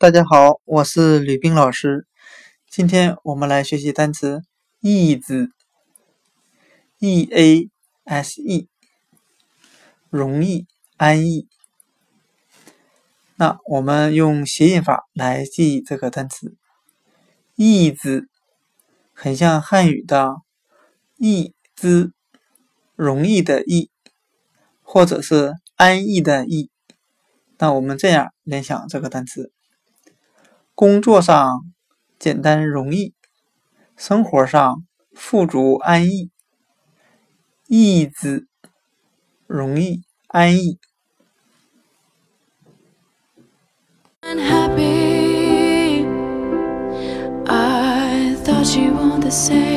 大家好，我是吕冰老师。今天我们来学习单词 ease E-A-S-E， 容易、安逸。那我们用谐音法来记忆这个单词。ease 很像汉语的易之，容易的易，或者是安逸的逸。那我们这样联想这个单词：工作上简单容易，生活上富足安逸。ease 容易安逸。 Unhappy, I thought you were the same.